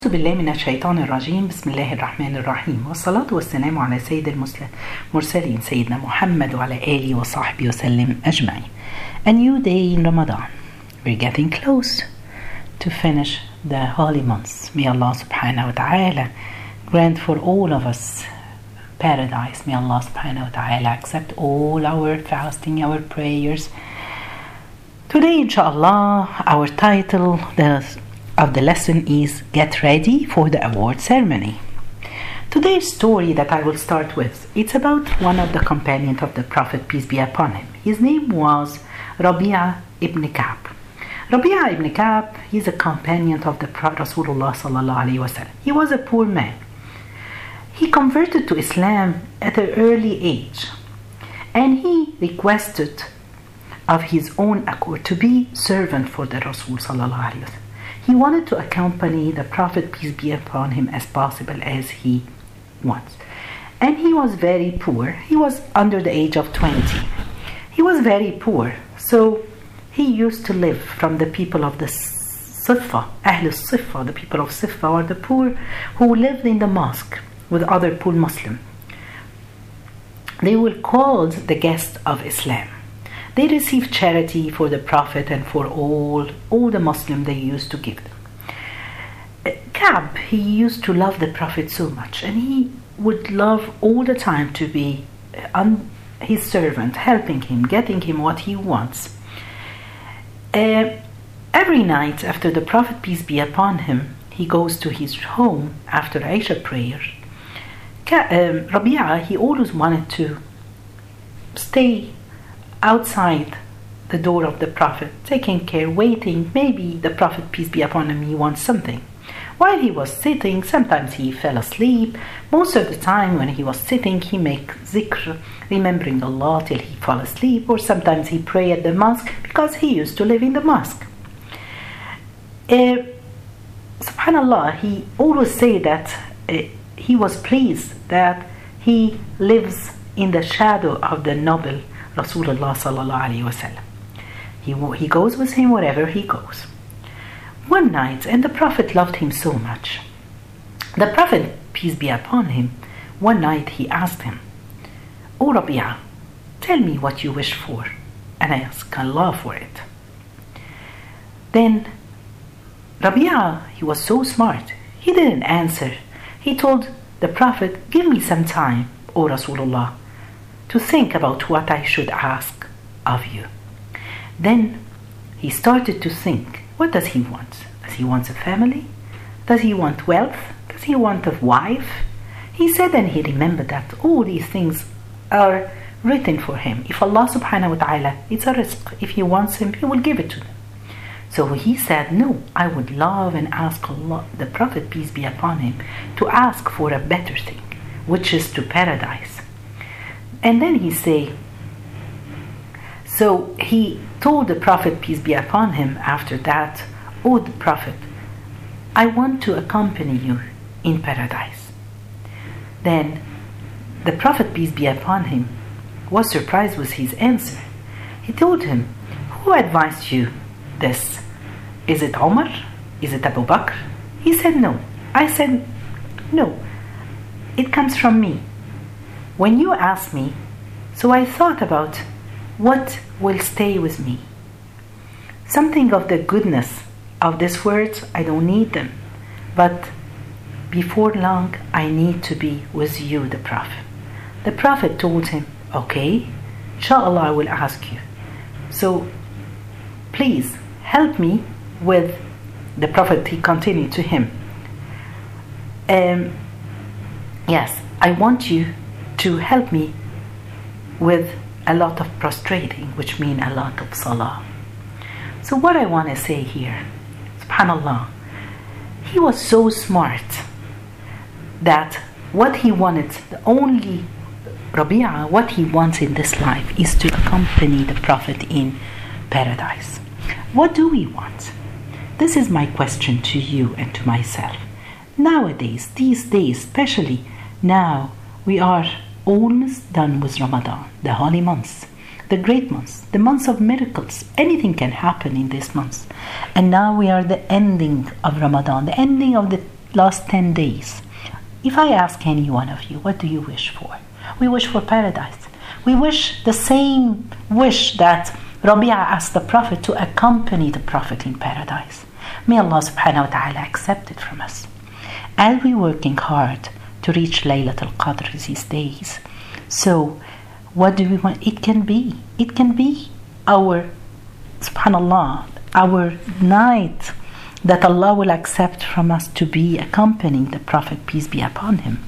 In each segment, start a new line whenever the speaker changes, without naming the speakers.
أعوذ بالله من الشيطان الرجيم. بسم الله الرحمن الرحيم، والصلاة والسلام على سيد المرسلين سيدنا محمد وعلى آله وصحبه وسلم أجمعين. A new day in Ramadan. We're getting close to finish the holy months. May Allah subhanahu wa ta'ala grant for all of us paradise. May Allah subhanahu wa ta'ala accept all our fasting, our prayers. Today, inshallah, our title of the lesson is Get Ready for the Award Ceremony. Today's story that I will start with, it's about one of the companions of the Prophet, peace be upon him. His name was Rabi'a ibn Ka'b. Rabi'a ibn Ka'b, he's a companion of the Rasulullah sallallahu alayhi wa sallam. He was a poor man. He converted to Islam at an early age, and he requested of his own accord to be servant for the Rasul sallallahu alayhi wa sallam. He wanted to accompany the Prophet, peace be upon him, as possible as he wants. And he was very poor. He was under the age of 20. He was very poor. So he used to live from the people of the Siffa, Ahl al-Siffa, the people of Siffa, or the poor who lived in the mosque with other poor Muslims. They were called the guests of Islam. They received charity for the Prophet and for all the Muslims they used to give them. Ka'b, he used to love the Prophet so much, and he would love all the time to be his servant, helping him, getting him what he wants. Every night after the Prophet, peace be upon him, he goes to his home after Isha prayer. Rabi'a, he always wanted to stay outside the door of the Prophet, taking care, waiting. Maybe the Prophet, peace be upon him, he wants something. While he was sitting, sometimes he fell asleep. Most of the time when he was sitting, he make zikr, remembering Allah till he fall asleep, or sometimes he pray at the mosque because he used to live in the mosque. Subhanallah, he always say that he was pleased that he lives in the shadow of the noble Rasulullah sallallahu alayhi wa sallam. He goes with him wherever he goes. One night, and the Prophet loved him so much. The Prophet, peace be upon him, one night he asked him, "O Rabi'a, tell me what you wish for, and I ask Allah for it." Then Rabi'a, he was so smart, he didn't answer. He told the Prophet, "Give me some time, O Rasulullah, to think about what I should ask of you." Then he started to think, what does he want? Does he want a family? Does he want wealth? Does he want a wife? He said, and he remembered that all these things are written for him. If Allah subhanahu wa ta'ala, it's a rizq. If he wants him, he will give it to them. So he said, no, I would love and ask Allah, the Prophet, peace be upon him, to ask for a better thing, which is to paradise. And then he say, so he told the Prophet, peace be upon him, after that, "O the Prophet, I want to accompany you in paradise." Then the Prophet, peace be upon him, was surprised with his answer. He told him, "Who advised you this? Is it Omar? Is it Abu Bakr?" He said, "No." I said, "No, it comes from me. When you asked me, so I thought about what will stay with me. Something of the goodness of these words, I don't need them. But before long, I need to be with you, the Prophet." The Prophet told him, "Okay, inshallah, I will ask you. So please help me with," the Prophet, he continued to him, "Yes, I want you to help me with a lot of prostrating, which means a lot of salah." So what I want to say here, subhanallah, he was so smart that what he wanted, the only Rabi'a, what he wants in this life is to accompany the Prophet in paradise. What do we want? This is my question to you and to myself. Nowadays, these days, especially now, we are almost done with Ramadan, the holy months, the great months, the months of miracles. Anything can happen in these months. And now we are the ending of Ramadan, the ending of the last 10 days, if I ask any one of you, what do you wish for? We wish for paradise. We wish the same wish that Rabi'a asked the Prophet to accompany the Prophet in paradise. May Allah subhanahu wa ta'ala accept it from us. As we're working hard to reach Laylatul Qadr these days, so what do we want? It can be our, subhanallah, our night that Allah will accept from us to be accompanying the Prophet, peace be upon him.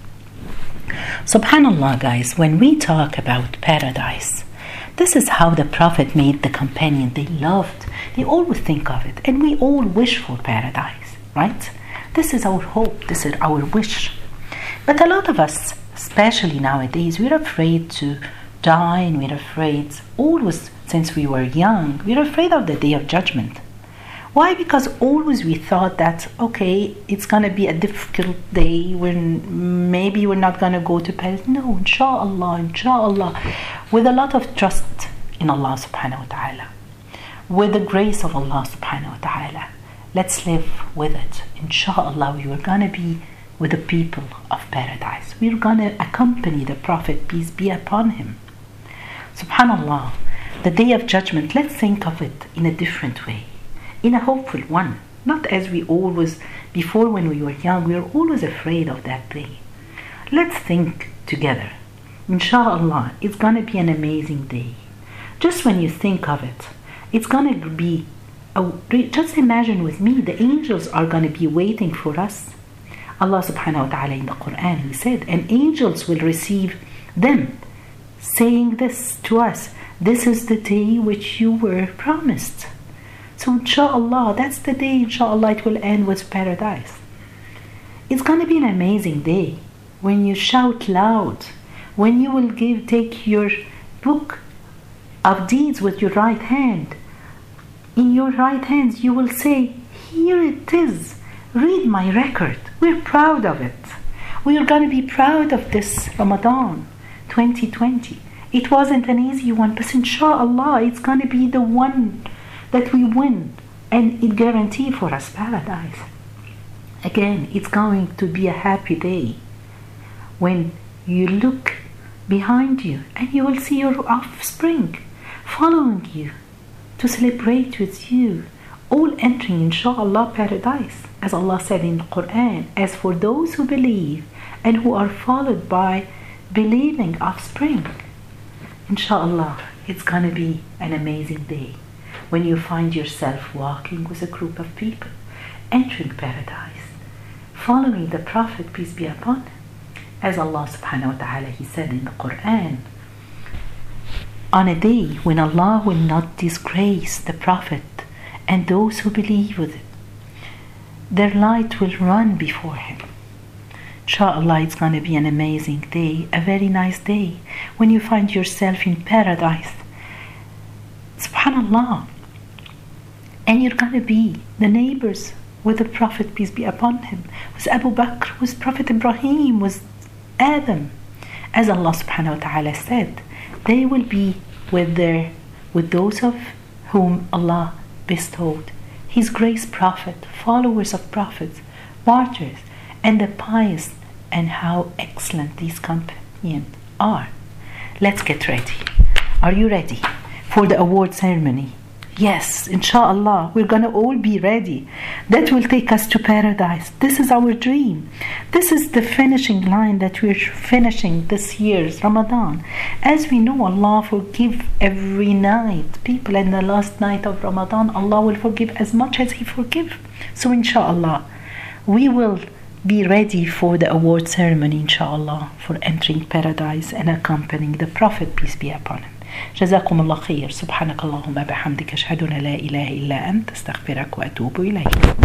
Subhanallah, guys, when we talk about paradise, this is how the Prophet made the companion. They always think of it, and we all wish for paradise, right? This is our hope, this is our wish. But a lot of us, especially nowadays, we're afraid to die, and we're afraid, always since we were young, we're afraid of the day of judgment. Why? Because always we thought that, okay, it's going to be a difficult day when maybe we're not going to go to paradise. No, inshallah, with a lot of trust in Allah subhanahu wa ta'ala, with the grace of Allah subhanahu wa ta'ala, let's live with it. Inshallah, we are going to be with the people of paradise. We're going to accompany the Prophet, peace be upon him. Subhanallah, the day of judgment, let's think of it in a different way, in a hopeful one. Not as we always, before when we were young, we were always afraid of that day. Let's think together. Inshallah, it's going to be an amazing day. Just when you think of it, it's going to be, just imagine with me, the angels are going to be waiting for us. Allah subhanahu wa ta'ala in the Quran, he said, and angels will receive them, saying this to us, this is the day which you were promised. So inshallah, that's the day, inshallah, it will end with paradise. It's going to be an amazing day when you shout loud, when you will take your book of deeds with your right hand. In your right hands you will say, here it is, read my record. We're proud of it. We are going to be proud of this Ramadan 2020. It wasn't an easy one, but inshallah it's going to be the one that we win, and it guarantees for us paradise. Again, it's going to be a happy day when you look behind you and you will see your offspring following you to celebrate with you, all entering inshallah paradise. As Allah said in the Quran, as for those who believe and who are followed by believing offspring, inshallah it's going to be an amazing day when you find yourself walking with a group of people, entering paradise, following the Prophet, peace be upon him. As Allah subhanahu wa ta'ala, he said in the Quran, on a day when Allah will not disgrace the Prophet and those who believe with it, their light will run before him. Inshallah, it's going to be an amazing day, a very nice day when you find yourself in paradise. Subhanallah. And you're going to be the neighbors with the Prophet, peace be upon him, with Abu Bakr, with Prophet Ibrahim, with Adam. As Allah subhanahu wa ta'ala said, they will be with those of whom Allah bestowed his grace, prophet, followers of prophets, martyrs, and the pious, and how excellent these companions are. Let's get ready. Are you ready for the award ceremony? Yes, inshallah, we're going to all be ready. That will take us to paradise. This is our dream. This is the finishing line that we're finishing this year's Ramadan. As we know, Allah forgive every night. People in the last night of Ramadan, Allah will forgive as much as He forgive. So inshallah, we will be ready for the award ceremony, inshallah, for entering paradise and accompanying the Prophet, peace be upon him. جزاكم الله خير. سبحانك اللهم بحمدك أشهد أن لا إله إلا أنت أستغفرك وأتوب إليك.